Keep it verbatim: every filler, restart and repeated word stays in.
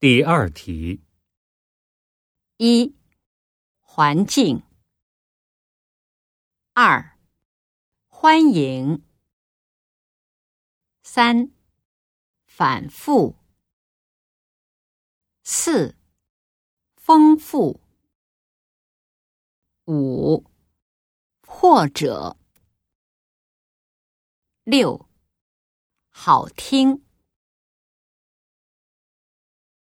第二题。 一、环境。二、欢迎。三、反复。四、丰富。五、或者。六、好听。